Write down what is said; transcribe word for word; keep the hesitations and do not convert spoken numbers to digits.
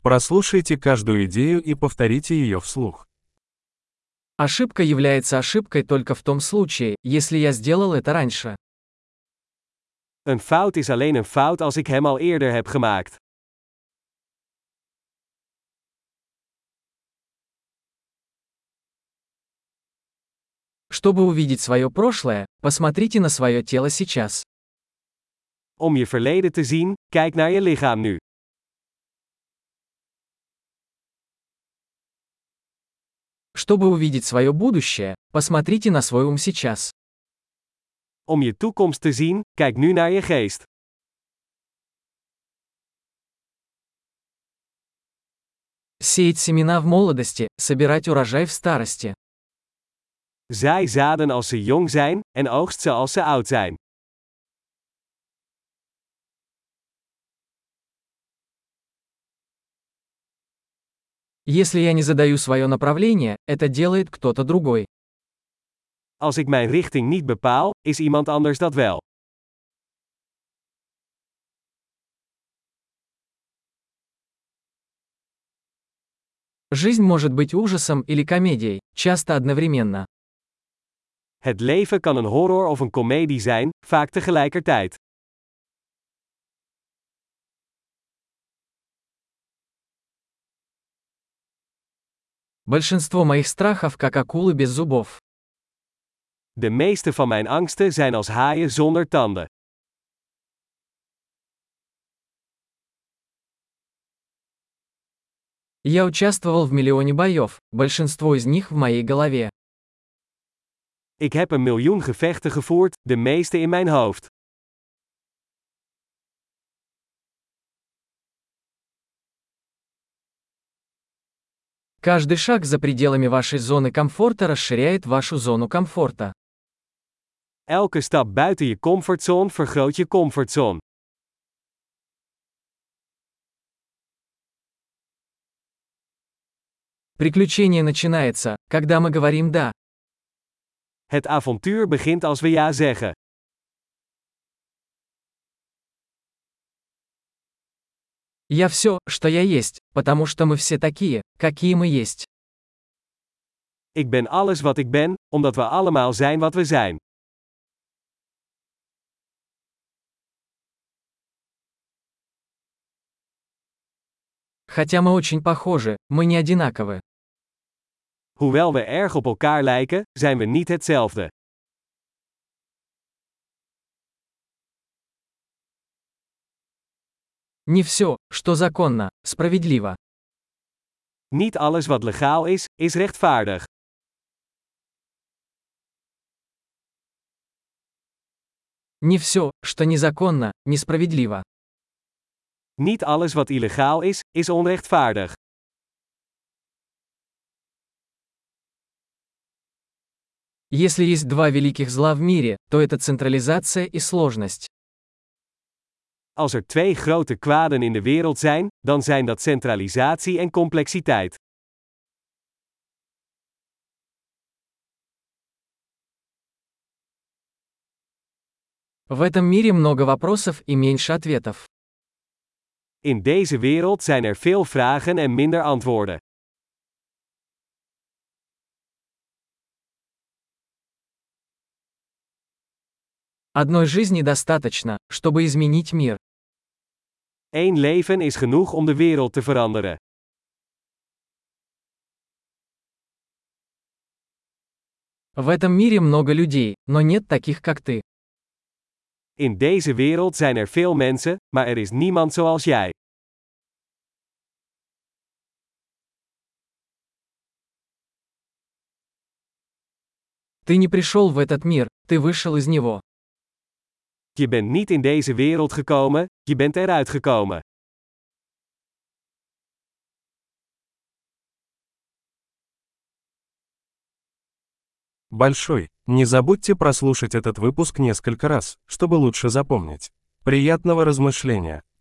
Прослушайте каждую идею и повторите ее вслух. Ошибка является ошибкой только в том случае, если я сделал это раньше. Een fout is alleen een fout als ik hem al eerder heb gemaakt. Чтобы увидеть свое прошлое, посмотрите на свое тело сейчас. Om je verleden te zien, kijk naar je lichaam nu. Чтобы увидеть свое будущее, посмотрите на свой ум сейчас. Om je toekomst te zien, kijk nu naar je geest. Сеять семена в молодости, собирать урожай в старости. Zaai zaden als ze jong zijn, en oogst ze als ze oud zijn. Если я не задаю свое направление, это делает кто-то другой. Als ik mijn richting niet bepaal, is iemand anders dat wel. Жизнь может быть ужасом или комедией, часто одновременно. Het leven kan een horror of een komedie zijn, vaak tegelijkertijd. Большинство моих страхов как акулы без зубов. De meeste van mijn angsten zijn als haaien zonder tanden. Я участвовал в миллионе боев, большинство из них в моей голове. Ik heb een miljoen gevechten gevoerd, de meeste in mijn hoofd. Каждый шаг за пределами вашей зоны комфорта расширяет вашу зону комфорта. Elke stap buiten je comfortzone vergroot je comfortzone. Приключение начинается, когда мы говорим «да». Het avontuur begint als we ja zeggen. Я все, что я есть, потому что мы все такие, какие мы есть. Ik ben alles wat ik ben, omdat we allemaal zijn wat we zijn. Хотя мы очень похожи, мы не одинаковы. Hoewel we erg op elkaar lijken, zijn we niet hetzelfde. Не все, что законно, справедливо. Niet alles wat legaal is, is rechtvaardig. Не все, что незаконно, несправедливо. Niet alles wat illegaal is, is onrechtvaardig. Если есть два великих зла в мире, то это централизация и сложность. Als er twee grote kwaden in de wereld zijn, dan zijn dat centralisatie en complexiteit. В этом мире много вопросов и меньше ответов. In deze wereld zijn er veel vragen en minder antwoorden. Одной жизни достаточно, чтобы изменить мир. Eén leven is genoeg om de wereld te veranderen. В этом мире много людей, но нет таких, как ты. In deze wereld zijn er veel mensen, maar er is niemand zoals jij. Ты не пришел в этот мир, ты вышел из него. Je bent niet in deze wereld gekomen, je bent eruit gekomen. Большой. Не забудьте прослушать этот выпуск несколько раз, чтобы лучше запомнить. Приятного размышления!